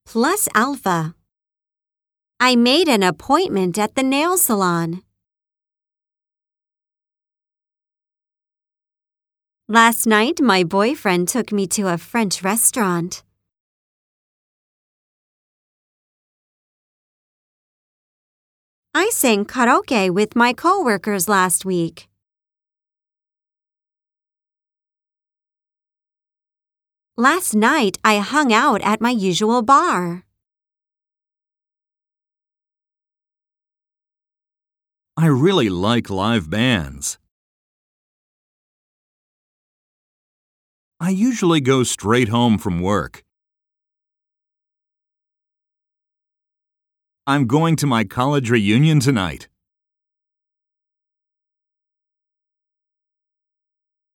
Plus alpha. I made an appointment at the nail salon. Last night, my boyfriend took me to a French restaurant. I sang karaoke with my coworkers last week. Last night, I hung out at my usual bar. I really like live bands. I usually go straight home from work. I'm going to my college reunion tonight.